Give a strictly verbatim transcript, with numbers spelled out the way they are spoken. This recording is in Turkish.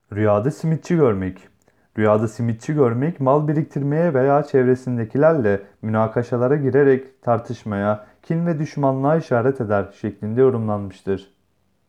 Rüyada simitçi görmek. Rüyada simitçi görmek, mal biriktirmeye veya çevresindekilerle münakaşalara girerek tartışmaya, kin ve düşmanlığa işaret eder şeklinde yorumlanmıştır.